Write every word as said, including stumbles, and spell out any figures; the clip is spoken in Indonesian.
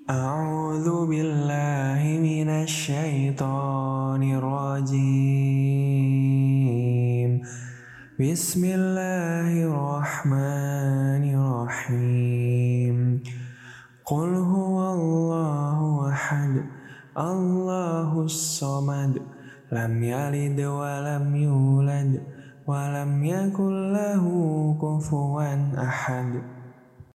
A'udzu billahi minasy syaithanir rajim. Bismillahirrahmanirrahim. Qul huwallahu ahad, Allahus samad, lam yalid wa lam yulad wa lam yakul lahu kufuwan ahad.